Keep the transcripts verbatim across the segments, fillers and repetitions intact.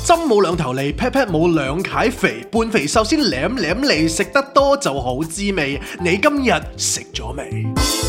針冇兩頭利 pat pat 冇兩楷肥，半肥瘦先舐舐脷，食得多就好滋味。你今日食咗未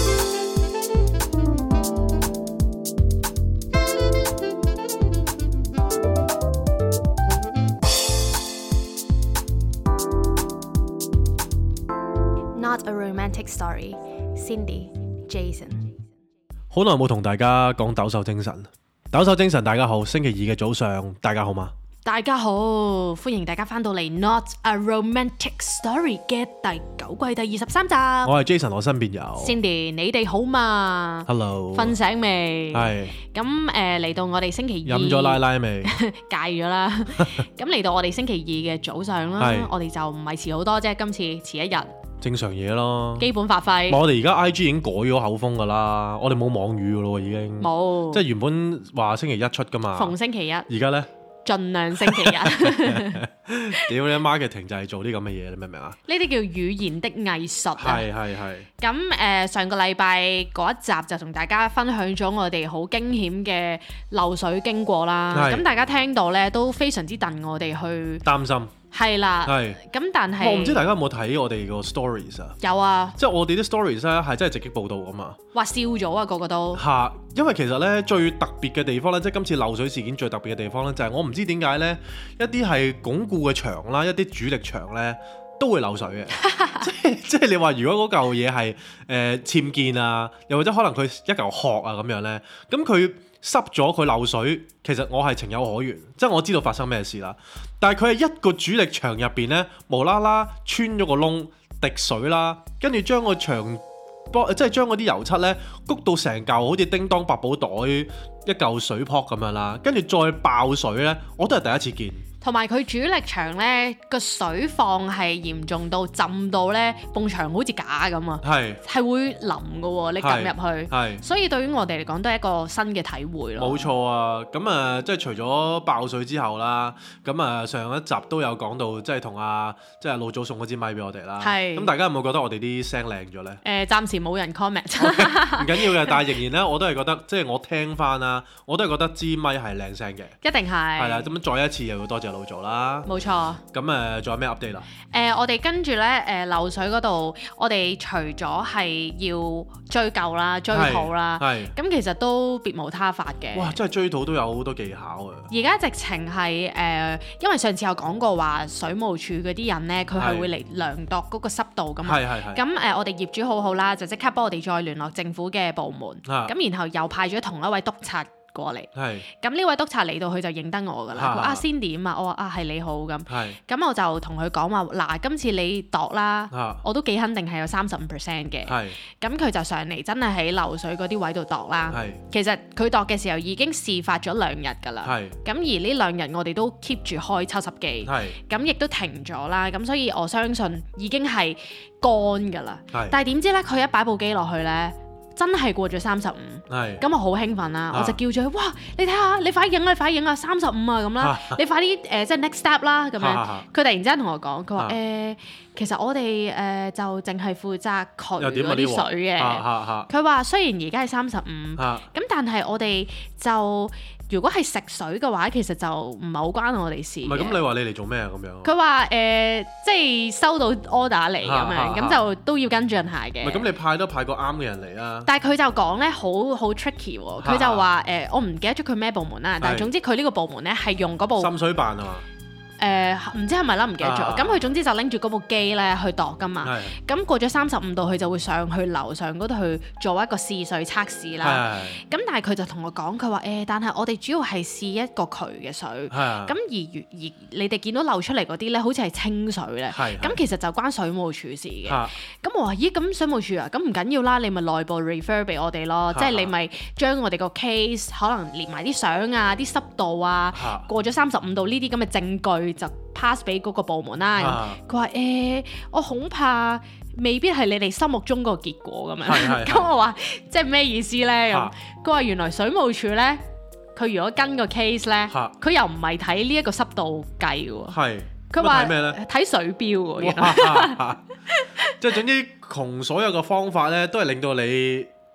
？Not a romantic story. Cindy, Jason。 好耐冇同大家講抖擻精神。抖擻精神，大家好。星期二嘅早上，大家好嗎？ 大家好，歡迎大家翻到嚟《Not a Romantic Story》嘅第九季第二十三集。 我係 Jason，我身邊有 Cindy，你哋好嘛 ？Hello， 瞓醒未？ 係。咁誒嚟到我哋星期二， 飲咗奶奶未？ 戒咗啦。咁嚟到我哋星期二嘅早上啦，我哋就唔係遲好多啫，今次遲一日。 正常嘢咯，基本發揮。 我哋而家 I G 已經改咗口風㗎啦，我哋冇網語㗎咯，已經。冇。即係原本話星期一出㗎嘛。逢星期一。而家呢？盡量星期一。屌你 marketing 就係做啲咁嘅嘢，你明唔明啊？呢啲叫語言的藝術啊。係係係。咁誒、呃、上個禮拜嗰一集就同大家分享咗我哋好驚險嘅漏水經過啦。咁大家聽到呢都非常之戥我哋去擔心。係啦，咁但係我唔知大家有冇睇我哋個 stories 啊？有啊，即係我哋啲 stories 咧係真係直擊報導㗎嘛。話笑咗啊，個個都嚇，因為其實咧最特別嘅地方咧，即係今次漏水事件最特別嘅地方咧，就係我唔知點解咧，一啲係鞏固嘅牆啦，一啲主力牆咧都會漏水嘅。即係即係你話如果嗰嚿嘢係誒僭建啊，又或者可能佢一嚿殼啊咁樣咧，咁佢濕咗佢漏水，其實我係情有可原，即係我知道發生咩事啦。但係佢係一個主力牆入邊呢，無啦啦穿咗個窿，滴水啦，跟住將個牆幫即係將嗰啲油漆呢谷到成嚿好似叮當百寶袋一嚿水泡咁樣啦，跟住再爆水呢，我都係第一次見。同埋佢主力牆呢個水況係嚴重到浸到呢埲牆好似假咁啊，係係會淋㗎喎，你撳入去，係所以對於我哋嚟講都係一個新嘅體會咯。冇錯啊，咁啊即係除咗爆水之後啦，咁啊上一集都有講到，即係同阿即係老祖送嗰支咪俾我哋啦。係咁，大家有冇覺得我哋啲聲靚咗呢？誒，暫時冇人 comment，唔緊要嘅，但係仍然呢，我都係覺得即係我聽翻啦，我都係覺得支咪係靚聲嘅，一定係係啦。咁再一次又要多謝老做啦，冇錯。咁誒，仲有咩 update 啦？誒，我哋跟住咧，誒漏水嗰度，我哋除咗係要追究啦、追討啦，係咁其實都別無他法嘅。哇！真係追討都有好多技巧啊！而家直情係誒，因為上次有講過話，水務署嗰啲人咧，佢係會嚟量度嗰個濕度㗎嘛。係係係。咁誒，我哋業主好好啦，就即刻幫我哋再聯絡政府嘅部門，咁然後又派咗同一位督察過嚟，咁呢位督察嚟到佢就認得我㗎啦。佢話啊 Cindy啊，我話啊係你好咁，咁我就同佢講話嗱，今次你度啦，我都幾肯定係有三十五 percent 嘅，咁佢就上嚟真係喺漏水嗰啲位度度啦。其實佢度嘅時候已經事發咗兩日㗎啦，咁而呢兩日我哋都 keep 住開抽濕機，咁亦都停咗啦，咁所以我相信已經係乾㗎啦。但係點知咧，佢一擺部機落去咧，真係過咗三十五，咁我好興奮啦，啊、我就叫咗佢，哇！你睇下，你快影啊，你快影啊，三十五啊咁啦，啊、你快啲誒、呃，即係 next step 啦咁樣。佢、啊、突然之間同我講，佢話誒，其實我哋誒、呃、就淨係負責渠嗰啲水嘅。佢話、啊啊、雖然而家係三十五，咁但係我哋就如果係食水嘅話，其實就唔係好關我哋事。唔係咁，你話你嚟做咩啊？咁樣。佢話誒，即係收到 order 嚟咁樣，咁就都要跟進下嘅。唔係咁，你派都派個啱嘅人嚟啊！但係佢就講咧，好好 tricky 喎。佢就話誒，我唔記得咗佢咩部門啦，但係總之佢呢個部門咧係用嗰部滲水辦啊嘛。誒唔、呃、知係咪啦，唔記得咗。咁佢、啊、總之就拎住嗰部機咧去度㗎嘛。咁是過咗三十五度，佢就會上去樓上嗰度去做一個試水測試啦。咁是但係佢就同我講，佢話誒，但係我哋主要係試一個渠嘅水。咁而而你哋見到漏出嚟嗰啲咧，好似係清水咧。咁其實就關水務署事嘅。咁是我話咦，咁水務署啊，咁唔緊要啦，你咪內部 refer 俾我哋咯。即係是你咪將我哋個 case 可能連埋啲相啊、啲濕度啊，是過咗三十五度呢啲咁嘅證據。就 pass 俾嗰個部門啦。佢話誒，我恐怕未必係你哋心目中個結果咁樣。咁我話即係咩意思咧？咁佢話原來水務署咧，佢如果跟個 case 咧，佢又唔係睇呢一個濕度計喎。係佢話睇咩咧？睇水標喎。即係總之窮所有嘅方法咧，都係令到你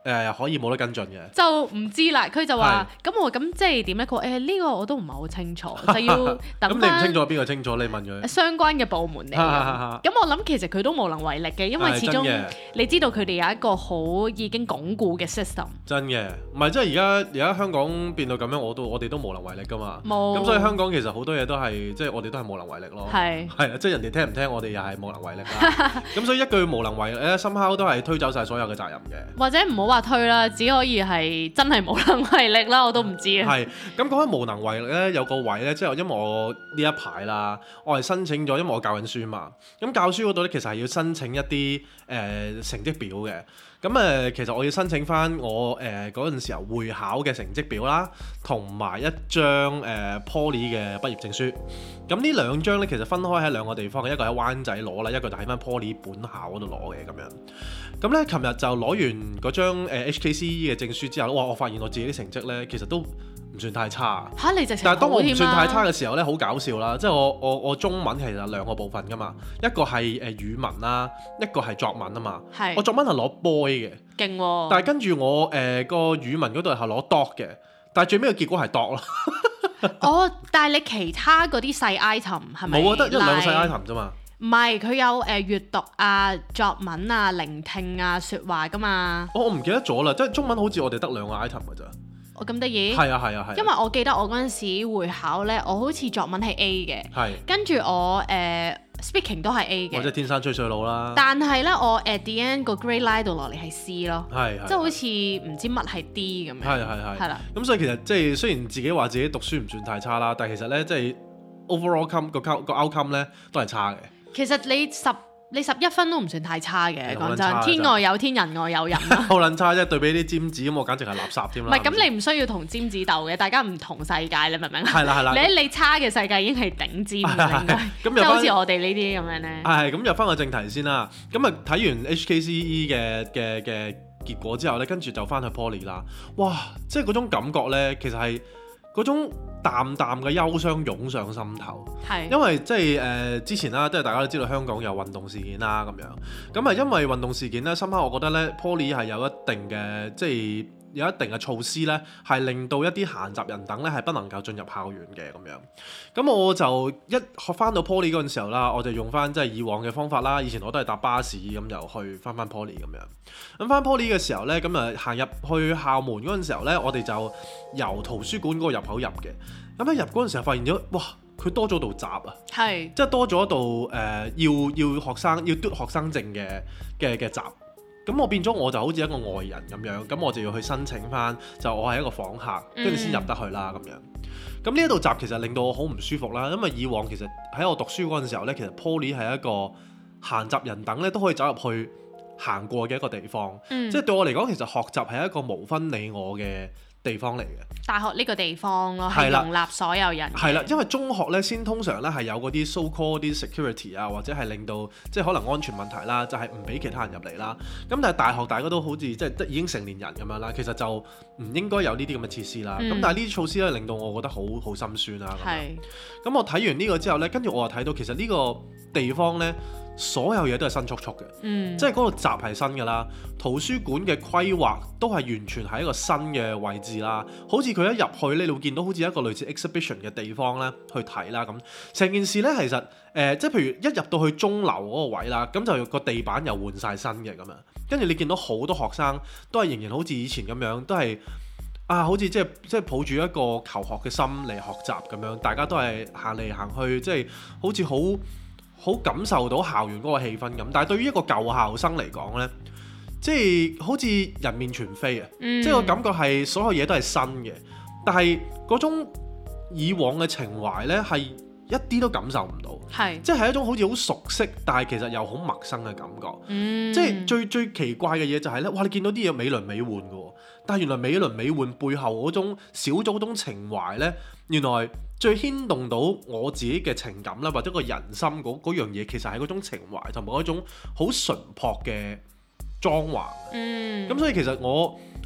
誒可以冇得跟進嘅， 就唔知啦。佢就話：咁我咁即係點咧？佢話誒呢個我都唔係好清楚，就要等翻。咁你唔清楚邊個清楚？你問佢相關嘅部門嚟。咁我諗其實佢都無能為力嘅，因為始終你知道佢哋有一個好已經鞏固嘅 system。真嘅， 唔係即係而家而家香港變到咁樣，我都我哋都無能為力㗎嘛。 冇。 咁所以香港其實好多嘢都係即係我哋都係無能為力咯。係。係啊，即係人哋聽唔聽我哋又係無能為力啦。咁所以一句無能為力咧，深刻都係推走晒所有嘅責任嘅。 或者唔好話推啦，只可以係真係無能為力啦，我都唔知啊。 係。咁講起無能為力咧，有個位咧，即係因為我呢一排啦，我係申請咗，因為我教緊書嘛。咁教書嗰度咧，其實係要申請一啲誒、呃、成績表嘅。咁誒、呃，其實我要申請翻我誒嗰陣時候會考嘅成績表啦，同埋一張誒、呃、Poly 嘅畢業證書。咁呢兩張咧，其實分開喺兩個地方嘅，一個喺灣仔攞啦，一個就喺翻 Poly 本校嗰度攞嘅咁樣。咁咧，琴日就攞完嗰張 H K C E 嘅證書之後，哇！我發現我自己啲成績咧，其實都唔算太差。 嚇你直情好添啦！ 但係當我唔算太差嘅時候咧，好搞笑啦！即係我我我中文其實有兩個部分㗎嘛，一個係誒語文啦，一個係作文啊嘛。係。我作文係攞 boy 嘅。勁喎！但係跟住我誒個語文嗰度係攞 dot 嘅，但係最尾嘅結果係 dot 咯。 哦，但係你其他嗰啲細 item 係咪？ 冇啊，得一兩個細 item 啫嘛。 唔係，佢有誒閱讀啊、作文啊、聆聽啊、説話噶嘛。 哦，我唔記得咗啦，即係中文好似我哋得兩個 item 㗎咋。 我咁得意？ 係啊係啊係。 因為我記得我嗰陣時會考咧，我好似作文係 A 嘅。係。跟住我誒 speaking 都係 A 嘅。 或者天生吹水佬啦。 但係咧，我 at the end 個 grade line 度落嚟係 C 咯。係係。即係好似唔知乜係 D 咁樣。係係係。係啦。咁所以其實即係雖然自己話自己讀書唔算太差啦，但係其實咧即係 overall come 個 out 個 outcome 咧都係差嘅。其實你十你十一分都唔算太差嘅，講真，天外有天，人外有人。 好撚差啫，對比啲尖子咁，我簡直係垃圾添啦。 唔係，咁你唔需要同尖子鬥嘅，大家唔同世界，你明唔明？ 係啦係啦。 你喺你差嘅世界已經係頂尖啦，應該。咁就好似我哋呢啲咁樣咧。 係咁入翻個正題先啦。咁啊睇完 H K C E 嘅嘅嘅結果之後咧，跟住就翻去 Poly 啦。哇！即係嗰種感覺咧，其實係嗰種淡淡嘅憂傷湧上心頭，係因為即係誒之前啦，即係大家都知道香港有運動事件啦咁樣，咁啊因為運動事件咧，深刻我覺得咧 Poly 係有一定嘅即係有一定嘅措施咧，係令到一啲閒雜人等咧係不能夠進入校園嘅咁樣。咁我就一學翻到 Poly 嗰陣時候啦，我就用翻即係以往嘅方法啦。以前我都係搭巴士咁就去翻翻 Poly 咁樣。咁翻 Poly 嘅時候咧，咁啊行入去校門嗰陣時候咧，我哋就由圖書館嗰個入口入嘅。咁一入嗰陣時候發現咗，哇！佢多咗道閘啊，係即係多咗一道誒、呃、要要學生要嘟學生證嘅嘅嘅閘。咁我變咗我就好似一個外人咁樣，咁我就要去申請翻，就我係一個訪客，跟住先入得去啦咁樣。咁呢一道閘其實令到我好唔舒服啦，因為以往其實喺我讀書嗰陣時候咧，其實 Poly 係一個閒雜人等咧都可以走入去行過嘅一個地方，嗯、即係對我嚟講，其實學習係一個無分你我嘅地方嚟嘅。大學呢個地方咯，係容納所有人。係啦，因為中學咧先通常咧係有嗰啲 so called 啲 security 啊，或者係令到即係可能安全問題啦，就係唔俾其他人入嚟啦。咁但係大學大家都好似即係已經成年人咁樣啦，其實就唔應該有呢啲咁嘅設施啦。咁、嗯、但係呢啲措施咧令到我覺得好好心酸啦。係。咁我睇完呢個之後咧，跟住我又睇到其實呢個地方咧。所有嘢都係新速速嘅，嗯、即係嗰個閘係新㗎啦，圖書館嘅規劃都係完全係一個新嘅位置啦。好似佢一入去咧，你會見到好似一個類似 exhibition 嘅地方咧去睇啦咁。成件事咧其實誒、呃，即係譬如一入到去鐘樓嗰個位啦，咁就個地板又換晒新嘅咁樣。跟住你見到好多學生都係仍然好似以前咁樣，都係啊，好似即係即係抱住一個求學嘅心嚟學習咁樣。大家都係行嚟行去，即係好似好。好感受到校園嗰個氣氛咁，但係對於一個舊校生嚟講呢，即係好似人面全非啊！嗯、即係個感覺係所有嘢都係新嘅，但係嗰種以往嘅情懷呢，係一啲都感受唔到，係即係一種好似好熟悉，但係其實又好陌生嘅感覺。嗯、即係最最奇怪嘅嘢就係呢：哇！你見到啲嘢美輪美奐嘅喎，但係原來美輪美奐背後嗰種小組嗰種情懷呢，原來最牽動到我自己嘅情感啦，或者個人心嗰嗰樣嘢，其實係嗰種情懷同埋嗰種好純樸嘅裝潢。嗯，咁所以其實我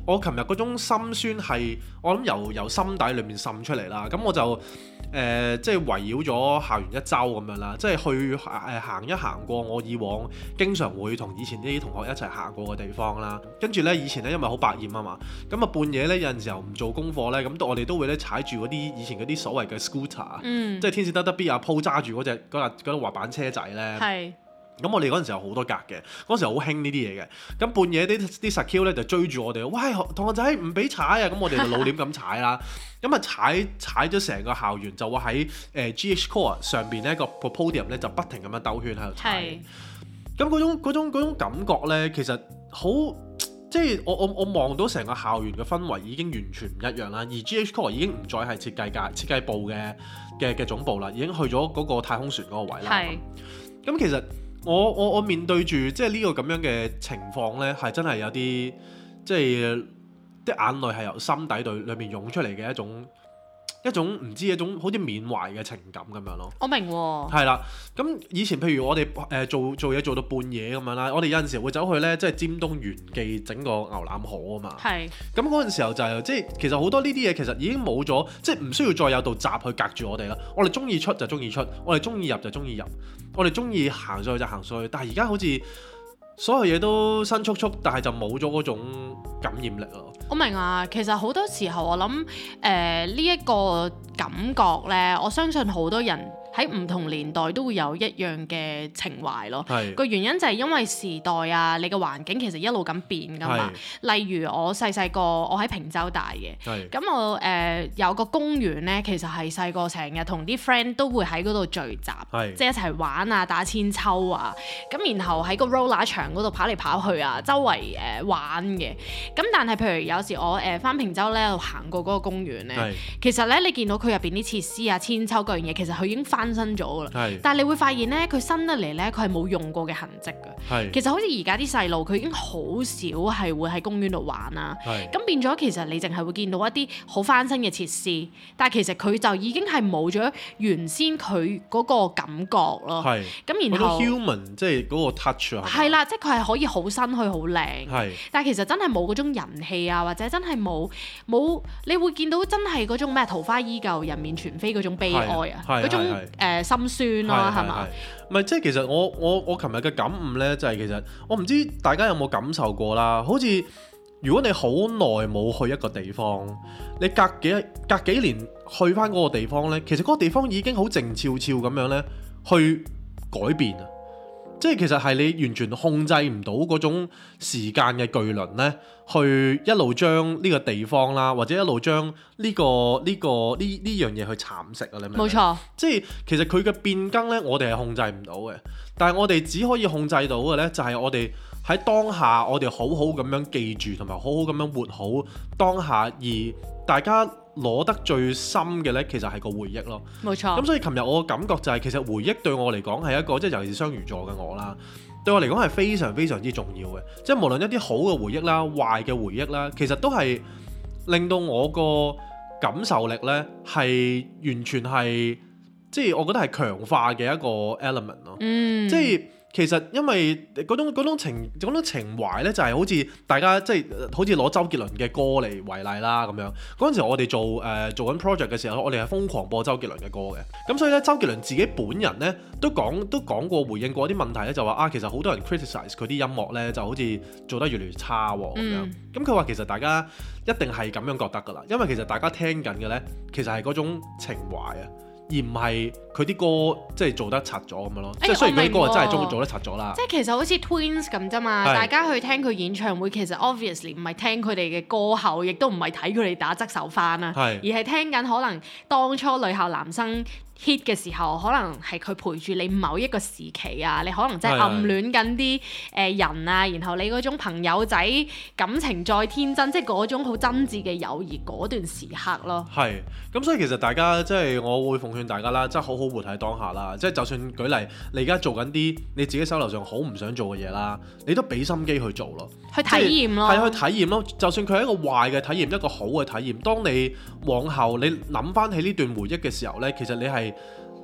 我琴日嗰種心酸係我諗由由心底裏面滲出嚟啦。咁我就誒、呃、即係圍繞咗校園一周咁樣啦，即係去誒、呃、行一行過我以往經常會同以前啲同學一齊行過嘅地方啦。跟住咧以前咧因為好百厭啊嘛，咁啊半夜咧有陣時候唔做功課咧，咁我哋都會咧踩住嗰啲以前嗰啲所謂嘅 scooter，、嗯、即係天使得得 B 阿 Po 揸住嗰隻嗰架嗰啲滑板車仔咧。係。咁我哋嗰陣時候好多格嘅，嗰陣時候好興呢啲嘢嘅。咁半夜啲啲實 Q 咧就追住我哋，喂同學仔唔俾踩啊！咁我哋就老臉咁踩啦。咁啊踩踩咗成個校園，就話喺誒 G H Core 上邊咧個 podium 咧就不停咁樣兜圈喺度踩。咁嗰種嗰種嗰種感覺咧，其實好即係我我我望到成個校園嘅氛圍已經完全唔一樣啦。而 G H Core 已經唔再係設計界設計部嘅嘅嘅總部啦，已經去咗嗰個太空船嗰個位啦。咁其實我我我面對住即係呢個咁樣嘅情況呢，係真係有啲即係啲眼淚係由心底裏裏面湧出嚟嘅一種一種唔知一種好似緬懷嘅情感咁樣咯。我明喎。係啦，咁以前譬如我哋誒、呃、做做嘢做到半夜咁樣啦，我哋有陣時會走去呢，即係尖東元記整個牛腩河啊嘛。係。咁嗰陣時候就係、即係其實好多呢啲嘢其實已經冇咗，即係唔需要再有道閘去隔住我哋啦。我哋中意出就中意出，我哋中意入就中意入。我哋中意行上去就行上去，但係而家好似所有嘢都新速速，但係就冇咗嗰種感染力咯。我明啊，其實好多時候我諗誒呢一個感覺呢，我相信好多人喺唔同年代都會有一樣嘅情懷咯。個原因就係因為時代啊，你嘅環境其實一路咁變噶嘛。例如我細細個，我喺坪洲大嘅，咁我誒、呃、有個公園呢，其實係細個成日同啲 friend 都會喺嗰度聚集，即係一齊玩啊、打千秋啊，咁然後喺個 roller 場嗰度跑嚟跑去啊，周圍誒、呃、玩嘅。咁但係譬如有時我誒返坪洲咧，行過嗰個公園咧，其實咧你見到佢入邊啲設施啊、千秋嗰樣嘢，其實佢已經翻新咗啦。但係你會發現咧，佢新得嚟咧，佢係冇用過嘅痕跡㗎。其實好似而家啲細路，佢已經好少係會喺公園度玩啊。咁變咗其實你淨係會見到一啲好翻新嘅設施，但係其實佢就已經係冇咗原先佢嗰個感覺咯。咁然後 human 即係嗰個 touch 啊。係啦，即係佢係可以好新去好靚。但係其實真係冇嗰種人氣啊，或者真係冇冇，你會見到真係嗰種咩桃花依舊人面全非嗰種悲哀啊，嗰種誒、呃、心酸咯，係嘛？唔係即係其實我我我琴日嘅感悟咧，就係、是、其實我唔知大家有冇感受過啦。好似如果你好耐冇去一個地方，你隔幾隔幾年去翻嗰個地方咧，其實嗰個地方已經好靜悄悄咁樣咧去改變啊！即係其實係你完全控制唔到嗰種時間嘅巨輪呢，去一路將呢個地方啦，或者一路將呢個呢個呢呢樣嘢去蠶食啊！你明唔明？冇錯。即係其實佢嘅變更呢，我哋係控制唔到嘅，但係我哋只可以控制到嘅呢，就係我哋喺當下，我哋好好咁樣記住，同埋好好咁樣活好當下，而大家攞得最深嘅呢，其實係個回憶咯。冇錯。咁所以琴日我嘅感覺就係、是，其實回憶對我嚟講係一個，即係尤其是雙魚座嘅我啦，對我嚟講係非常非常之重要嘅。即係無論一啲好嘅回憶啦、壞嘅回憶啦，其實都係令到我個感受力呢係完全係，即係我覺得係強化嘅一個 element 咯。嗯。即係。其實因為嗰種嗰種情嗰種情懷咧，就係好似大家即係好似攞周杰倫嘅歌嚟為例啦咁樣。嗰陣時我哋做誒、呃、做緊 project 嘅時候，我哋係瘋狂播周杰倫嘅歌嘅。咁所以咧，周杰倫自己本人咧都講都講過回應過一啲問題咧，就話啊，其實好多人 criticize 佢啲音樂咧，就好似做得越嚟越差喎咁樣。咁佢話其實大家一定係咁樣覺得㗎啦，因為其實大家聽緊嘅咧，其實係嗰種情懷啊。而唔係佢啲歌即係做得柒咗咁樣咯，即係、欸、雖然佢啲歌係真係做做得柒咗啦。即係其實好似 Twins 咁啫嘛，大家去聽佢演唱會，其實 obviously 唔係聽佢哋嘅歌喉，亦都唔係睇佢哋打側手翻啦，而係聽緊可能當初女校男生 hit 嘅時候，可能係佢陪住你某一個時期啊，你可能真係暗戀緊啲誒人啊，然後你嗰種朋友仔感情再天真，即係嗰種好真摯嘅友誼嗰段時刻咯。係，咁所以其實大家即係我會奉勸大家啦，即係好好活喺當下啦，即係就算舉例你而家做緊啲你自己手頭上好唔想做嘅嘢啦，你都俾心機去做咯，去體驗咯，係去體驗咯。就算佢係一個壞嘅體驗，一個好嘅體驗，當你往後你諗翻起呢段回憶嘅時候呢，其實你係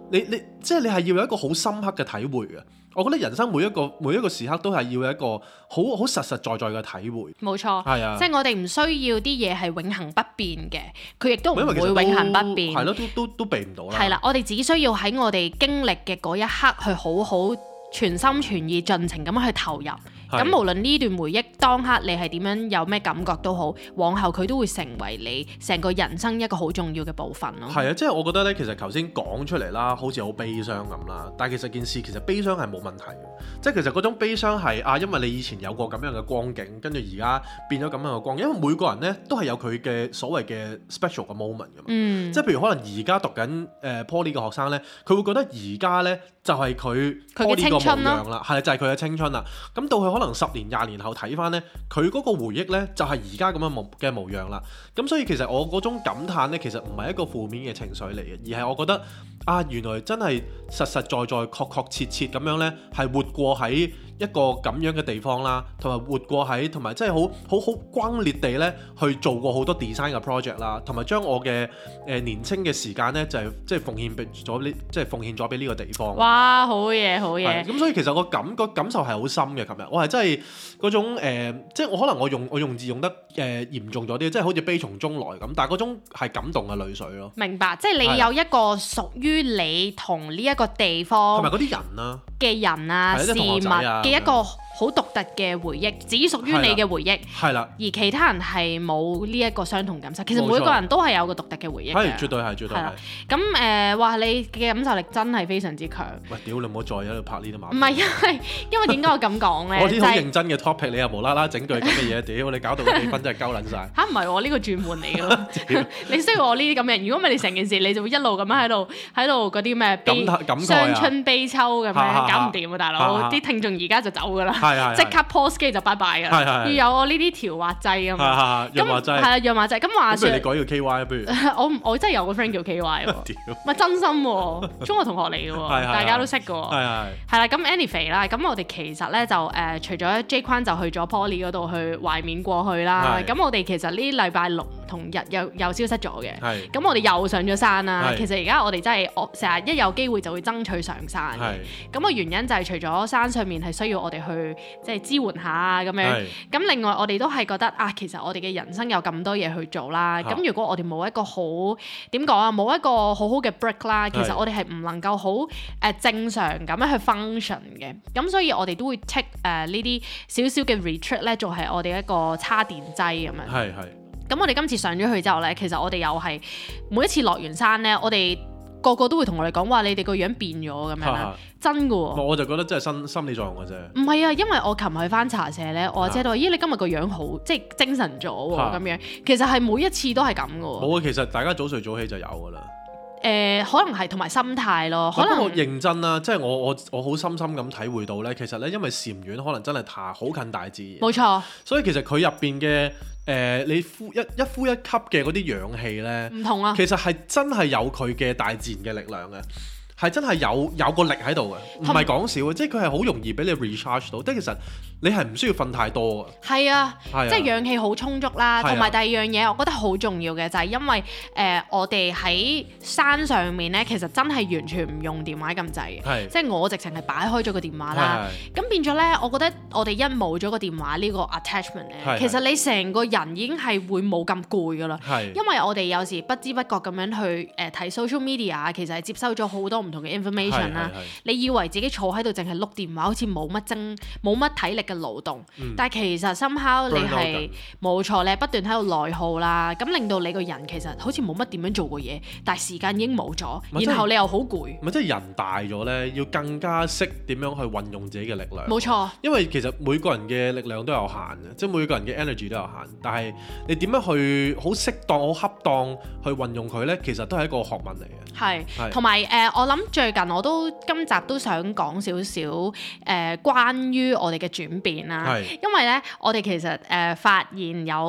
你你即係你係要有一個好深刻嘅體會嘅。我覺得人生每一個每一個時刻都係要有一個好好實實在在嘅體會。冇錯，係啊，即係我哋唔需要啲嘢係永恆不變嘅，佢亦都唔會永恆不變。係咯，都都都避唔到啦。係啦，我哋只需要喺我哋經歷嘅嗰一刻去好好全心全意盡情咁去投入。咁無論呢段回憶當刻你係點樣有咩感覺都好，往後佢都會成為你成個人生一個好重要嘅部分咯。係啊，即係我覺得咧，其實頭先講出嚟啦，好似好悲傷咁啦，但係其實件事其實悲傷係冇問題嘅，即係其實嗰種悲傷係啊，因為你以前有過咁樣嘅光景，跟住而家變咗咁樣嘅光景，因為每個人咧都係有佢嘅所謂嘅 special 嘅 moment 㗎嘛。嗯。即係譬如可能而家讀緊誒 Poly 嘅學生咧，佢會覺得而家咧就係佢 Poly 個模樣啦，係就係佢嘅青春啦。咁到佢可能十年廿年後睇翻呢，佢嗰個回憶呢，就係而家咁樣模嘅模樣啦。咁所以其實我嗰種感嘆呢，其實唔係一個負面嘅情緒嚟嘅，而係我覺得啊，原來真係實實在在、確確切切咁樣呢，係活過喺一個咁樣嘅地方啦，同埋活過喺，同埋真係好好好轟烈地咧去做過好多 design 嘅 project 啦，同埋將我嘅誒、呃、年青嘅時間咧就係即係奉獻俾咗呢，即係奉獻咗俾呢個地方。哇！好嘢，好嘢。咁所以其實我感個感受係好深嘅。琴日我係真係嗰種、呃、即係我可能我用我用字用得誒、呃、嚴重咗啲，即係好似悲從中來咁，但係嗰種係感動嘅淚水咯。明白，即係你有一個屬於你同呢一個地方同埋嗰啲人啊嘅人啊事物嘅一個好獨特嘅回憶，只屬於你嘅回憶。係啦，而其他人係冇呢一個相同感受。其實每個人都係有個獨特嘅回憶嘅。係，絕對係，絕對係。咁誒，話、呃、你嘅感受力真係非常之強。喂，屌你唔好再喺度拍呢啲馬。唔係因為因為點解我咁講咧？我啲好認真嘅 topic，你又無啦啦整句咁嘅嘢，屌你搞到個氣氛真係鳩撚晒。嚇唔係我呢個轉換嚟嘅咯。你需要我呢啲咁嘅，如果唔係你成件事，你就會一路咁樣喺度喺度嗰啲咩悲傷春悲秋咁樣，搞唔掂啊大佬！啲聽眾而家就走㗎啦。即刻 post 機就拜拜㗎啦，要有我呢啲調滑劑啊嘛。咁係啊，潤滑劑。咁話說，不如你改叫 K Y 啊，不如。我我真係有個 friend 叫 K Y 喎，唔係真心喎，中學同學嚟嘅喎，大家都識嘅喎。係係。係啦，咁 anyway 啦，咁我哋其實咧就誒，除咗 J 框就去咗 Poly 嗰度去懷緬過去啦。咁我哋其實呢禮拜六同日又又消失咗嘅。係。咁我哋又上咗山啦。其實而家我哋真係我成日一有機會就會爭取上山。係。咁個原因就係除咗山上面係需要我哋去即係支援下啊咁樣，咁另外我哋都係覺得啊，其實我哋嘅人生有咁多嘢去做啦。咁、啊、如果我哋冇一個好點講啊，冇一個好好嘅 break 啦，其實我哋係唔能夠好誒正常咁樣去 function 嘅。咁所以我哋都會 take 誒呢啲少少嘅 retreat 咧，做係我哋一個叉電劑咁樣。係係。咁我哋今次上咗去之後咧，其實我哋又係每一次落完山咧，我哋個個都會同我哋講話，你哋個樣變咗咁樣啦，真㗎喎。我就覺得真係心心理作用嘅啫。唔係啊，因為我琴日去翻茶社咧，我阿姐都話：咦，你今日個樣好，即係精神咗喎咁樣。其實係每一次都係咁㗎喎。冇啊，其實大家早睡早起就有㗎啦。誒，可能係同埋心態咯。可能我認真啦，即係我我我好深深咁體會到咧，其實咧，因為禪院可能真係太好近大自然。冇錯。所以其實佢入邊嘅。誒、呃，你呼一一呼一吸嘅嗰啲氧氣咧，唔同啊，其實係真係有佢嘅大自然嘅力量嘅，係真係有有個力喺度嘅，唔係講笑嘅，即係佢係好容易俾你 recharge 到，即係其實你係唔需要瞓太多嘅。係啊，啊即係氧氣好充足啦，同埋、啊、第二樣嘢，我覺得好重要嘅就係因為誒、呃、我哋喺山上面咧，其實真係完全唔用電話咁滯嘅，即係我直情係擺開咗個電話啦，咁變咗咧，我覺得我哋一冇咗個電話呢個 attachment 咧，其實你成個人已經係會冇咁攰噶啦，因為我哋有時不知不覺咁樣去誒睇、呃、social media， 其實係接收咗好多唔同嘅 information 啦。你以為自己坐喺度淨係碌電話，好似冇乜精冇乜體力嘅勞動，嗯、但係其實 somehow 你係冇錯咧，不斷喺度內耗啦，咁令到你個人其實好似冇乜點樣做過嘢，但係時間已經冇咗，然後你又好攰。咪即係人大咗咧，要更加識點樣去運用自己嘅力量。冇錯，因為其實每個人嘅力量都有限嘅，即係每個人嘅 energy 都有限，但係你點樣去好適當、好恰當去運用佢咧，其實都係一個學問嚟嘅。係，同埋誒，我諗最近我都今集都想講少少誒，關於我哋嘅轉變啦。係，因為咧，我哋其實誒、呃、發現有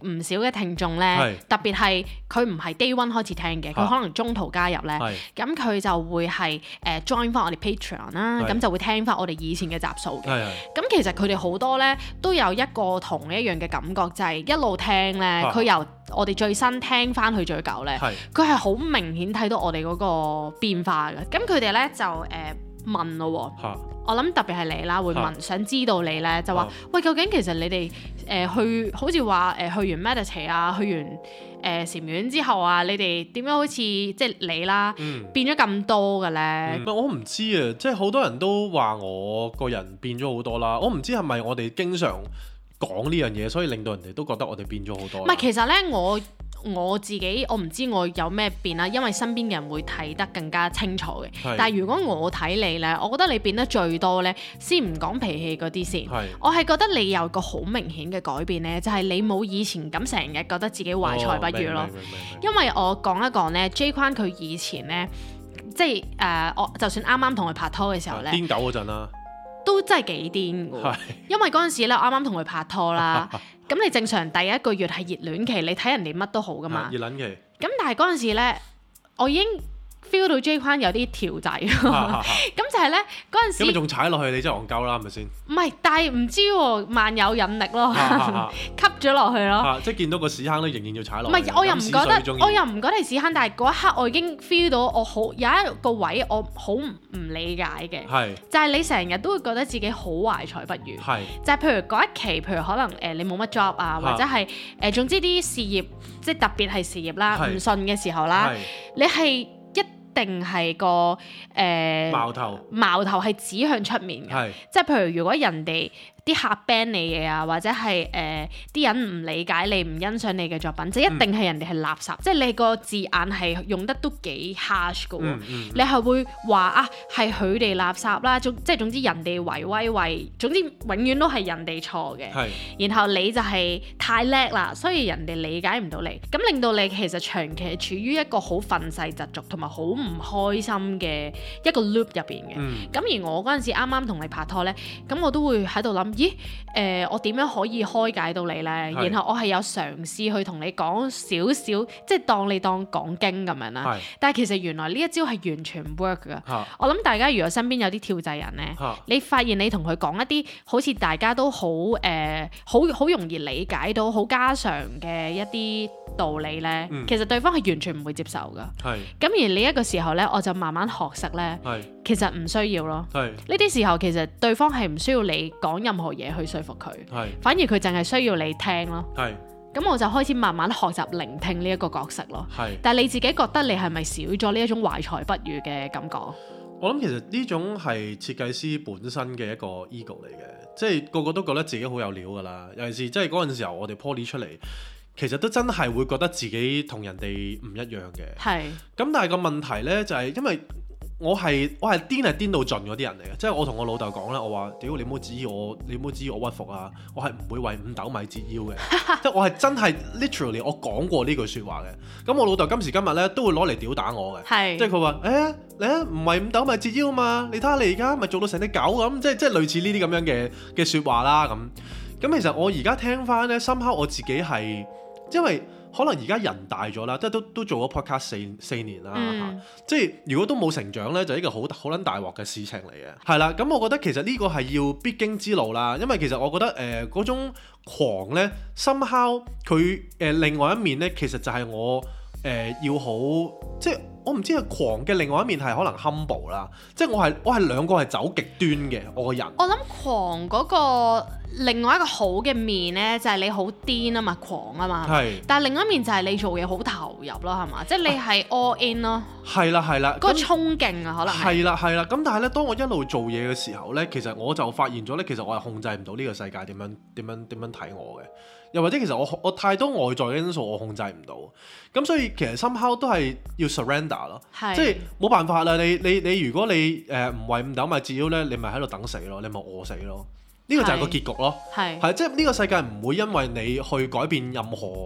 唔少嘅聽眾咧，特別係佢唔係 day one 開始聽嘅，佢可能中途加入咧，咁佢就會係誒 join 翻我哋 Patreon 啦，咁就會聽翻我哋以前嘅集數嘅。咁其實佢哋好多咧都有一個同一樣嘅感覺，就係一路聽咧，佢由我哋最新聽翻去最舊咧，佢係好明顯睇到我哋嗰個變化嘅。咁佢哋咧就誒問咯喎。我諗特別係你啦，會問、啊、想知道你咧，就話、啊、喂，究竟其實你哋誒、呃、去好似話誒去完 meditate 啊，去完誒禪院之後啊，你哋點樣好似即係你啦，嗯、變咗咁多嘅咧？ 嗯、我唔知啊，即係好多人都話我個人變咗好多啦。我唔知係咪我哋經常講呢樣嘢，所以令到人哋都覺得我哋變咗好多。 唔係，其實咧我。我自己我唔知我有咩變啦，因為身邊嘅人會睇得更加清楚嘅。是但係如果我睇你呢，我覺得你變得最多呢，先唔講脾氣嗰啲先。是我係覺得你有個好明顯嘅改變呢，就係、是、你冇以前咁成日覺得自己懷才不遇咯。哦、因為我講一講呢 J 框佢以前呢，即係誒、呃，我就算啱啱同佢拍拖嘅時候呢， 癲狗嗰陣啦。 都真係幾癲㗎，因為嗰陣時咧，我啱啱同佢拍拖啦。咁你正常第一個月係熱戀期，你睇人哋乜都好㗎嘛。 熱戀期。 咁但係嗰陣時咧，我已經 feel 到 J 框有啲條仔，咁就係咧嗰陣時。咁你仲踩落去，你真係戇鳩啦，係咪先？唔係，但係唔知喎，萬有引力咯，吸咗落去咯。即係見到個屎坑都仍然要踩落。 唔係，我又唔覺得，我又唔覺得係屎坑，但係嗰一刻我已經 feel 到我好有一個位我好唔理解嘅， 係就係你成日都會覺得自己好懷才不遇，係就係譬如嗰一期，譬如可能誒你冇乜 job 啊，或者係誒總之啲事業即係特別係事業啦，唔順嘅時候啦，你係。定係個誒、呃、 矛頭， 矛頭係指向出面嘅，是即係譬如如果人哋啲客 ban 你嘅啊，或者係誒啲人唔理解你、唔欣賞你嘅作品，就一定係人哋係垃圾，嗯、即係你個字眼係用得都幾 harsh 嘅喎，嗯嗯、你係會話啊係佢哋垃圾啦，總即係總之人哋為威為，總之永遠都係人哋錯嘅，是然後你就係太叻啦，所以人哋理解唔到你，咁令到你其實長期處於一個好憤世嫉俗同埋好唔開心嘅一個 loop 入邊嘅，咁、嗯、而我嗰陣時啱啱同你拍拖呢，咁我都會喺度諗。咦？誒、呃，我點樣可以開解到你呢？是然後我係有嘗試去同你講少少，即係當你當講經咁樣啦。是但係其實原來呢一招係完全唔 work 㗎。是我諗大家如果身邊有啲跳掣人呢，是你發現你同佢講一啲好似大家都好誒，好、呃、好容易理解到、好家常嘅一啲道理呢，嗯、其實對方係完全唔會接受㗎。係是。咁而呢一個時候呢，我就慢慢學識呢，是其實唔需要咯。係是。呢啲時候其實對方係唔需要你講任何嘢去說服佢，係反而佢淨係需要你聽咯。係咁我就開始慢慢學習聆聽呢一個角色咯。係，但係你自己覺得你係咪少咗呢一種懷才不遇嘅感覺？ 我諗其實呢種係設計師本身嘅一個 ego 嚟嘅，即係個個都覺得自己好有料㗎啦。尤其是即係嗰陣時候我哋 Poly 出嚟，其實都真係會覺得自己同人哋唔一樣嘅。係咁，但係個問題呢，就係因為。我係我係癲係癲到盡嗰啲人嚟嘅，即係我同我老豆講咧，我話屌你唔好指意我，你唔好指意我屈服啊！我係唔會為五斗米折腰嘅，即係我係真係 literally 我講過呢句説話嘅。咁我老豆今時今日咧都會攞嚟屌打我嘅，是即係佢話誒你啊唔係五斗米折腰啊嘛，你睇下你而家咪做到成隻狗咁，即係即係類似呢啲咁樣嘅嘅説話啦咁。咁其實我而家聽翻咧，深刻我自己係因為。可能而家人大咗啦，即係都都做咗 podcast 四四年啦嚇、嗯啊，即係如果都冇成長呢，就係一個好好撚大鑊嘅事情嚟嘅。係啦，咁我覺得其實呢個係要必經之路啦，因為其實我覺得誒嗰、呃、種狂呢 somehow 佢誒、呃、另外一面呢，其實就係我誒、呃、要好即係。我唔知係狂嘅另外一面係可能 humble 啦，即係我係我係兩個係走極端嘅我個人。 我諗狂嗰個另外一個好嘅面呢，就係你好癲啊嘛，狂啊嘛。係。但係另外一面就係你做嘢好投入咯，係嘛？即係你係 all in 咯。係啦係啦。嗰個衝勁啊，可能係。係啦係啦，咁但係呢，當我一路做嘢嘅時候呢，其實我就發現咗呢，其實我係控制唔到呢個世界點樣點樣點樣睇我嘅。又或者其實我我太多外在嘅因素我控制唔到，咁所以其實 somehow 都係要 surrender 咯，是即係冇辦法啦。你你你如果你誒唔為五斗米折腰咧，你咪喺度等死咯，你咪餓死咯。呢、這個就係個結局咯。係係即係呢個世界唔會因為你去改變任何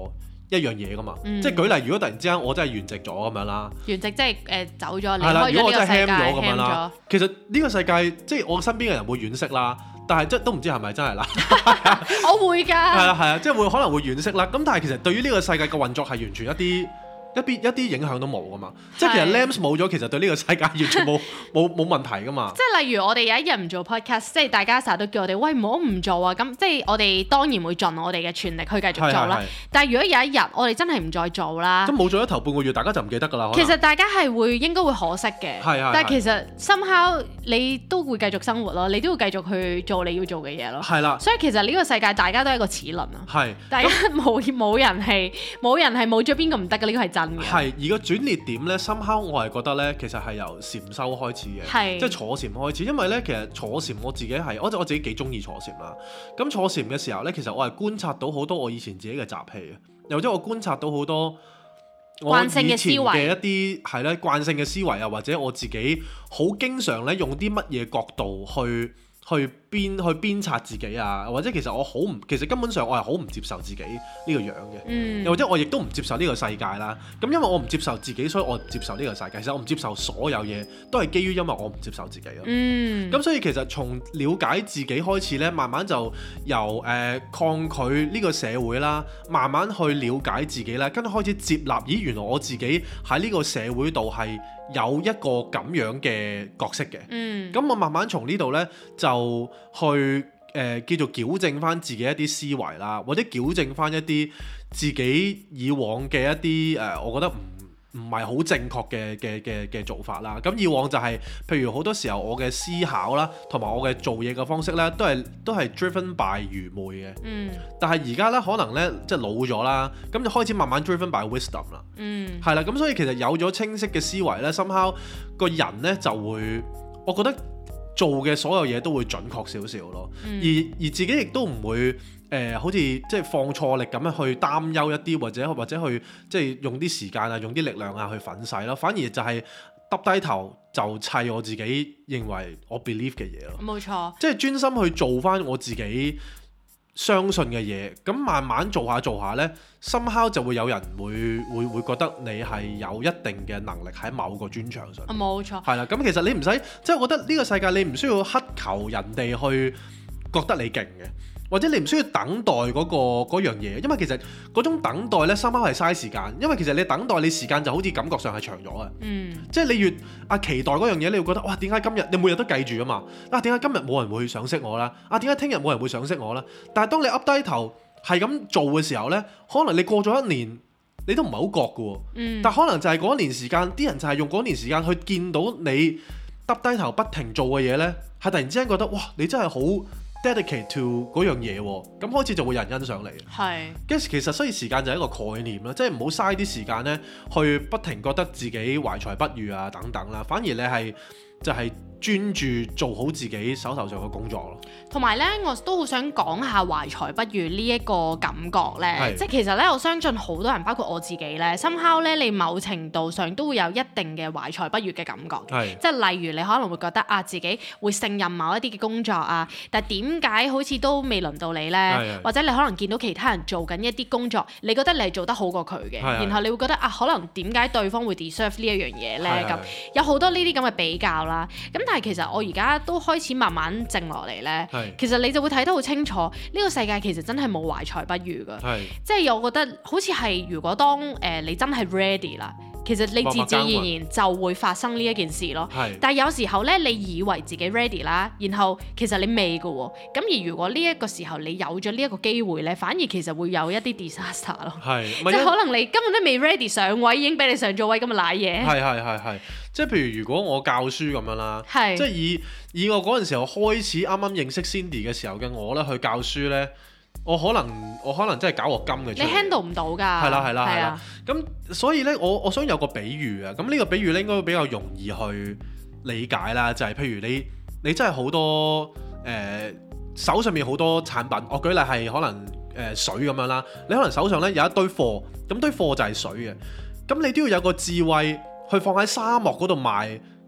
一樣嘢噶嘛，嗯、即係舉例，如果突然之間我真係圓寂咗咁樣啦， 圓寂即係誒、呃、走咗，離開咗呢個世界， 咁樣啦。其實呢個世界即係我身邊嘅人會惋惜啦，但係即都唔知係咪真係啦。 我會㗎。係啊係啊，即係會可能會惋惜啦。咁但係其實對於呢個世界嘅運作係完全一啲。一啲一啲影響都冇噶嘛，即係其實 Lamps 冇咗，其實對呢個世界完全冇冇冇問題噶嘛。 即係例如我哋有一日唔做 podcast，即係大家成日都叫我哋喂唔好唔做啊，咁即係我哋當然會盡我哋嘅全力去繼續做啦。但係如果有一日我哋真係唔再做啦， 咁冇做咗頭半個月，大家就唔記得㗎啦。 其實大家係會應該會可惜嘅， 係係。 但係其實 somehow 你都會繼續生活咯，你都會繼續去做你要做嘅嘢咯。 係啦。 所以其實呢個世界大家都係一個齒輪啊。 係。 大家冇冇人係冇人係冇咗邊個唔得嘅，呢個係真嘅。 係而個轉捩點咧，somehow我係覺得咧，其實係由禪修開始嘅，是即係坐禪開始。因為咧，其實坐禪我自己係，我我自己幾中意坐禪啦。咁坐禪嘅時候咧，其實我係觀察到好多我以前自己嘅習氣啊，又或者我觀察到好多我以前嘅一啲係咧慣性嘅思維啊，或者我自己好經常咧用啲乜嘢角度去。去鞭去鞭策自己啊，或者其實我好唔，其實根本上我係好唔接受自己呢個樣嘅，嗯、又或者我亦都唔接受呢個世界啦。咁因為我唔接受自己，所以我唔接受呢個世界。其實我唔接受所有嘢，都係基於因為我唔接受自己咯。咁、嗯、所以其實從了解自己開始咧，慢慢就由誒、呃、抗拒呢個社會啦，慢慢去了解自己啦，跟住開始接納，咦原來我自己喺呢個社會度係有一個咁樣嘅角色嘅，咁、嗯、我慢慢從呢度呢，就去誒、呃、叫做矯正翻自己一啲思維啦，或者矯正翻一啲自己以往嘅一啲誒、呃，我覺得唔唔係好正確嘅嘅嘅嘅做法啦。咁以往就係、是、譬如好多時候我嘅思考啦，同埋我嘅做嘢嘅方式呢，都係都係 driven by 愚昧嘅。嗯。但係而家呢，可能呢，即係老咗啦，咁就開始慢慢 driven by wisdom 啦。嗯。係啦，咁所以其實有咗清晰嘅思維呢，somehow個人呢就會，我覺得做嘅所有嘢都會準確少少咯。嗯、而而自己亦都唔會。誒、呃，好似即係放錯力咁樣去擔憂一啲，或者或者去即係用啲時間啊，用啲力量啊去粉洗咯。反而就係耷低頭就砌我自己認為我 believe 嘅嘢咯。冇錯，即係專心去做翻我自己相信嘅嘢。咁慢慢做下做下呢 somehow 就會有人會會會覺得你係有一定嘅能力喺某個專長上。冇錯，係啦。咁其實你唔使，即係我覺得呢個世界你唔需要乞求人哋去覺得你勁嘅。或者你唔需要等待嗰、嗰個嗰樣嘢，因為其實嗰種等待呢，深刻係嘥時間。因為其實你等待你時間就好似感覺上係長咗嘅，嗯、即係你越啊期待嗰樣嘢，你會覺得哇點解今日你每日都記住啊嘛？啊點解今日冇人會賞識我啦？啊點解聽日冇人會賞識我啦？但係當你噏低頭係咁做嘅時候呢，可能你過咗一年你都唔係好覺嘅喎，嗯、但可能就係嗰一年時間，啲人就係用嗰年時間去見到你耷低頭不停做嘅嘢呢，係突然之間覺得哇你真係好dedicate to 嗰樣嘢喎，咁開始就會有人欣賞你。係，跟住其實所以時間就係一個概念啦，即係唔好嘥啲時間咧，去不停覺得自己懷才不遇啊等等啦，反而你係就係、是。專注做好自己手頭上嘅工作咯。同埋咧，我都好想講下懷才不遇呢一個感覺咧。是即係其實咧，我相信好多人，包括我自己咧，somehow咧，你某程度上都會有一定嘅懷才不遇嘅感覺。是即係例如你可能會覺得啊，自己會勝任某一啲嘅工作啊，但係點解好似都未輪到你咧？是或者你可能見到其他人做緊一啲工作，你覺得你係做得好過佢嘅，是然後你會覺得啊，可能點解對方會 deserve 呢一樣嘢咧？咁有好多呢啲咁嘅比較啦。咁但係其實我而家都開始慢慢靜落嚟咧，是其實你就會睇得好清楚，呢、呢個世界其實真係冇懷才不遇㗎，是即係我覺得好似係如果當誒、呃、你真係 ready 啦。其實你自自然然就會發生呢一件事咯。是但係有時候咧，你以為自己 ready 啦，然後其實你未㗎喎。咁而如果呢一個時候你有咗呢一個機會咧，反而其實會有一啲 disaster 咯。係，即係可能你根本都未 ready 上位，已經俾你上咗位咁嘅瀨嘢。係係係係，即係譬如如果我教書咁樣啦，是即係以以我嗰陣時候開始啱啱認識 Cindy 嘅時候嘅我咧去教書咧。我可能我可能真係搞個金嘅出嚟，你 handle 唔到㗎。係啦係啦係啦，咁所以咧，我我想有個比喻啊。咁呢個比喻咧應該會比較容易去理解啦。就係、是、譬如你你真係好多誒、呃、手上面好多產品，我舉例係可能誒、呃、水咁樣啦。你可能手上咧有一堆貨，咁堆貨就係水嘅。咁你都要有個智慧去放喺沙漠嗰度賣。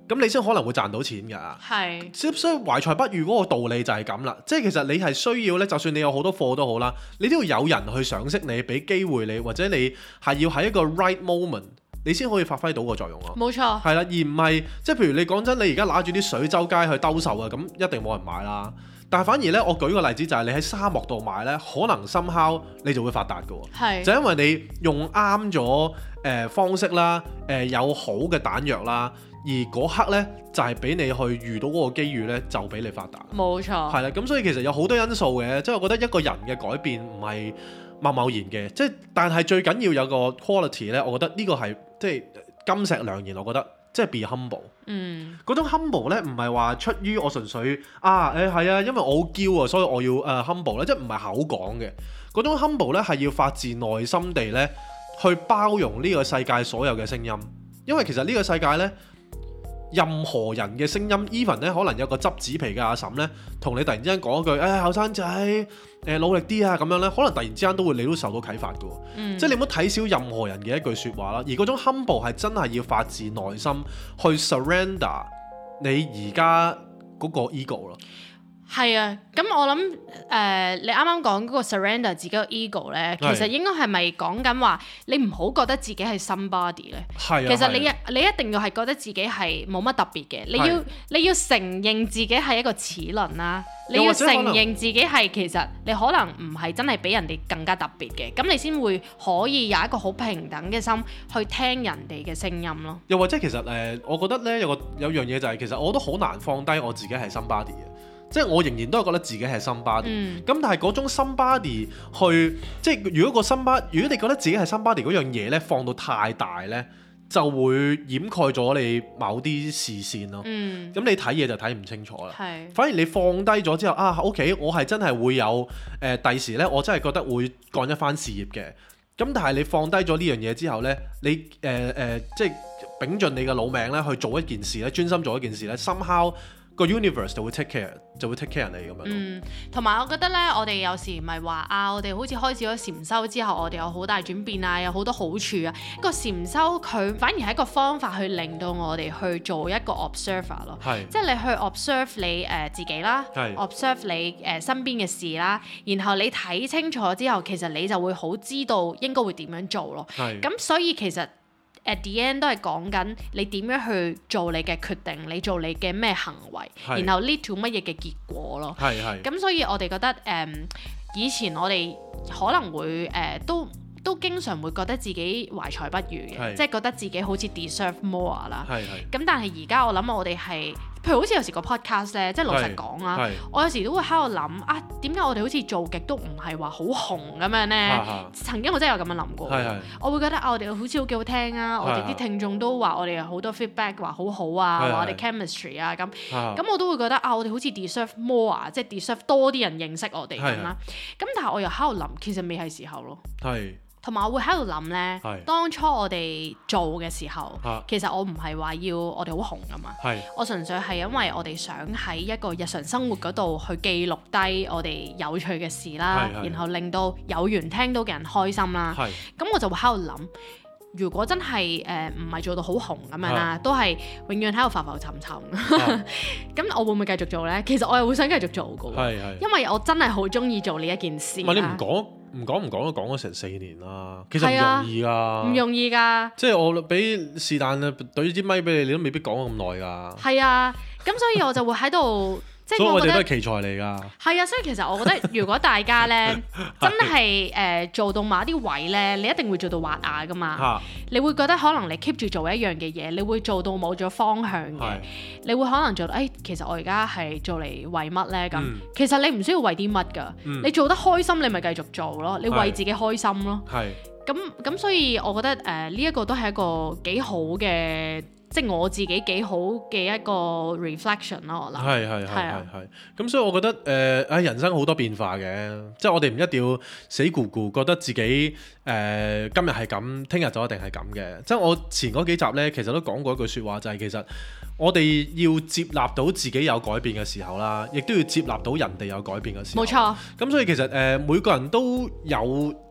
咁你先可能會賺到錢㗎。係是，所以懷才不遇嗰個道理就係咁啦。即係其實你係需要咧，就算你有好多貨都好啦，你都要有人去賞識你，俾機會你，或者你係要喺一個 right moment，你先可以發揮到個作用咯。冇錯。係啦，而唔係即係譬如你講真，你而家拿住啲水周街去兜售啊，咁一定冇人買啦。但係反而咧，我舉個例子就係你喺沙漠度買咧，可能 somehow 你就會發達㗎喎。係是。就因為你用啱咗誒方式啦，誒、呃、有好嘅彈藥啦，而嗰刻咧就係、是、俾你去遇到嗰個機遇咧，就俾你發達。冇錯。係啦，咁所以其實有好多因素嘅，即係我覺得一個人嘅改變唔係貿貿然嘅，即係但係最緊要有個 quality 咧，我覺得呢個係即係金石良言，我覺得。即係 be humble，嗯，嗰種 humble 咧，唔係話出於我純粹啊，誒係啊，因為我好驕啊，所以我要誒、uh, humble 咧，即係唔係口講嘅。嗰種 humble 咧係要發自內心地咧去包容呢個世界所有嘅聲音，因為其實呢個世界咧，任何人嘅聲音 even 咧可能有個執紙皮嘅阿嬸咧，同你突然之間講一句誒後生仔誒努力啲啊咁樣咧，可能突然之間都會你都受到啟發嘅，嗯、即係你唔好睇小任何人嘅一句説話啦。而嗰種 humble 係真係要發自內心去 surrender 你而家嗰個 ego 咯。 係啊，咁我諗誒、呃，你啱啱講嗰個 surrender 自己個 ego 咧，其實應該係咪講緊話你唔好覺得自己係 somebody 咧？係啊，其實你一你一定要係覺得自己係冇乜特別嘅，你要你要承認自己係一個齒輪啦，你要承認自己係其實你可能唔係真係比人哋更加特別嘅，咁你先會可以有一個好平等嘅心去聽人哋嘅聲音咯。 又或者其實誒、呃，我覺得咧有個有樣嘢就係、是、其實我都好難放低我自己係 somebody 嘅。即係我仍然都係覺得自己係 somebody，咁、嗯、但係嗰種 somebody 去，即係如果個 somebody，如果你覺得自己係 somebody 嗰樣嘢咧，放到太大咧，就會掩蓋咗你某啲視線咯。咁、嗯、你睇嘢就睇唔清楚啦。是反而你放低咗之後，啊 OK，我係真係會有誒第、呃、時咧，我真係覺得會幹一番事業嘅。咁但係你放低咗呢樣嘢之後咧，你誒誒、呃呃、即係秉盡你嘅老命咧去做一件事咧，專心做一件事咧 somehow 個 universe 就會 take care，就會 take care 你咁樣。嗯， 同埋我覺得咧，我哋有時唔係話啊，我哋好似開始咗禪修之後，我哋有好大轉變啊，有好多好處啊。個禪修佢反而係一個方法去令到我哋去做一個 observer 咯，係，即係你去 observe 你誒、呃、自己啦，係，observe 你誒、呃、身邊嘅事啦，然後你睇清楚之後，其實你就會好知道應該會點樣做咯。係，咁所以其實at the end 都係講緊你點樣去做你嘅決定，你做你嘅咩行為，是然後 lead to 乜嘢嘅結果咯。係係。咁所以我哋覺得誒、嗯，以前我哋可能會誒、呃、都都經常會覺得自己懷才不遇嘅，即係是覺得自己好似 deserve more 啦。係係。咁但係而家我諗我哋係。譬如好似有時個 podcast 咧，即係老實講啊，我有時都會喺度諗啊，點解我哋好似做極都唔係話好紅咁樣咧？啊、曾經我真係有咁樣諗過，是是我會覺得啊，我哋好似好幾好聽啊，是是我哋啲聽眾都話我哋有好多 feedback 話好好啊，話我哋 chemistry 啊咁，咁是是 我都會覺得啊，我哋好似 deserve more 啊，即係 deserve 多啲人認識我哋咁啦。咁但係我又喺度諗，其實未係時候咯。係。同埋我會喺度諗呢，是當初我哋做嘅時候，啊、其實我唔係話要我哋好紅㗎嘛，是我純粹係因為我哋想喺一個日常生活嗰度去記錄低我哋有趣嘅事啦，然後令到有緣聽到嘅人開心啦。咁是我就會喺度諗，如果真係誒唔係做到好紅咁樣啦，是都係永遠喺度浮浮沉沉，咁是我會唔會繼續做呢？其實我又會想繼續做㗎，因為我真係好中意做呢一件事。唔係你唔講。唔講唔講都講咗成四年啦，其實唔容易㗎，唔容易㗎。即係我俾是但啊，對支咪俾你，你都未必講咁耐㗎。係啊，咁所以我就會喺度。所以我哋都係奇才嚟㗎。係啊，所以其實我覺得，如果大家咧真係誒、呃、做到某一啲位咧，你一定會做到滑牙㗎嘛。你會覺得可能你 keep 住做一樣嘅嘢，你會做到冇咗方向嘅。是你會可能做到誒、哎，其實我而家係做嚟為乜咧？咁、嗯、其實你唔需要為啲乜㗎。嗯、你做得開心，你咪繼續做咯。你為自己開心咯。係。咁咁，所以我覺得誒呢一個都係一個幾好嘅。即係我自己幾好嘅一個 reflection 咯，我諗係係係係係咁，所以我覺得誒喺、呃、人生好多變化嘅，即係我哋唔一定要死咕咕覺得自己誒、呃、今日係咁，聽日就一定係咁嘅。即係我前嗰幾集呢，其實都講過一句説話，就係、是、其實我哋要接納到自己有改變嘅時候啦，亦都要接納到人哋有改變嘅時候。冇錯。咁所以其實誒、呃、每個人都有一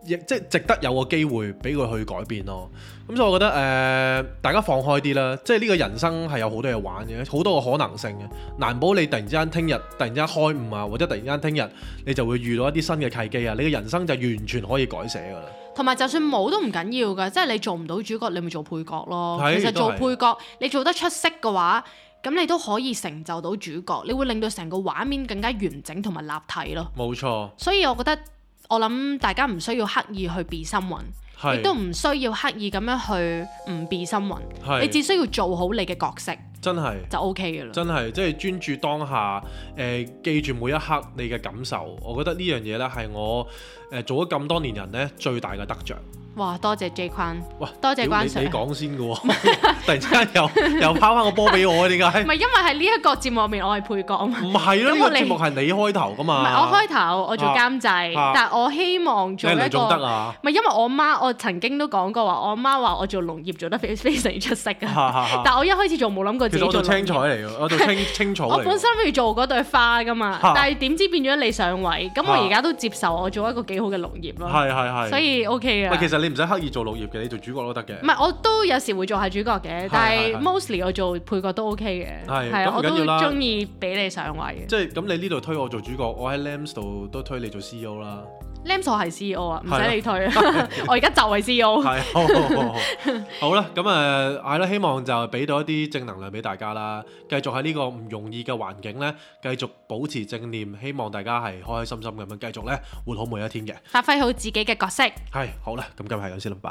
亦即係值得有個機會俾佢去改變咯。咁所以我覺得誒、呃，大家放開啲啦，即係呢個人生係有好多嘢玩嘅，好多個可能性嘅，難保你突然之間聽日突然之間開悟啊，或者突然間聽日你就會遇到一啲新嘅契機啊，你嘅人生就完全可以改寫噶啦。同埋就算冇都唔緊要噶，即係你做唔到主角，你咪做配角咯。其實做配角你做得出色嘅話，咁你都可以成就到主角，你會令到成個畫面更加完整同埋立體咯。冇錯。所以我覺得我諗大家唔需要刻意去 be someone。亦都唔需要刻意咁樣去唔 be someone，你只需要做好你嘅角色，真係就 OK 嘅啦。真係即係專注當下，誒、呃、記住每一刻你嘅感受。我覺得呢樣嘢咧係我誒、呃、做咗咁多年人咧最大嘅得着。哇！多謝 J 坤，哇！多謝關 Sir。你講先嘅喎，突然之間又又拋翻個波俾我，點解？唔係因為係呢一個節目入面我係配角啊嘛。唔係咯，呢個節目係你開頭噶嘛。唔係我開頭，我做監製，啊啊、但係我希望做一個。你做得啊？唔係因為我媽，我曾經都講過話，我媽話我做農業做得非非常出色啊。啊啊但係我一開始做冇諗過自己做農業。其實我做青菜嚟嘅，我做青青草嚟。我本身不如做嗰對花噶嘛，啊、但係點知變咗你上位，咁我而家都接受我做一個幾好嘅農業咯。係係係。所以 OK 嘅。其實你唔使刻意做農業。你做主角都得嘅，唔係我都有時會做下主角嘅，但係 mostly 我做配角都 OK 嘅，係係我都中意俾你上位嘅。即係咁，你呢度推我做主角，我喺 Lams 度都推你做 C E O 啦。Lams 我係 C E O 啊，唔使你推，我而家就係 C E O。係好好好，好啦，咁誒係啦，希望就俾到一啲正能量俾大家啦，繼續喺呢個唔容易嘅環境咧，繼續保持正念，希望大家係開開心心咁樣繼續咧活好每一天嘅，發揮好自己嘅角色。係好啦，咁今日係咁先啦，拜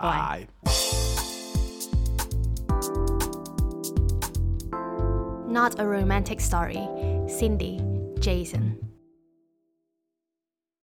拜。Not a romantic story. Cindy, Jason.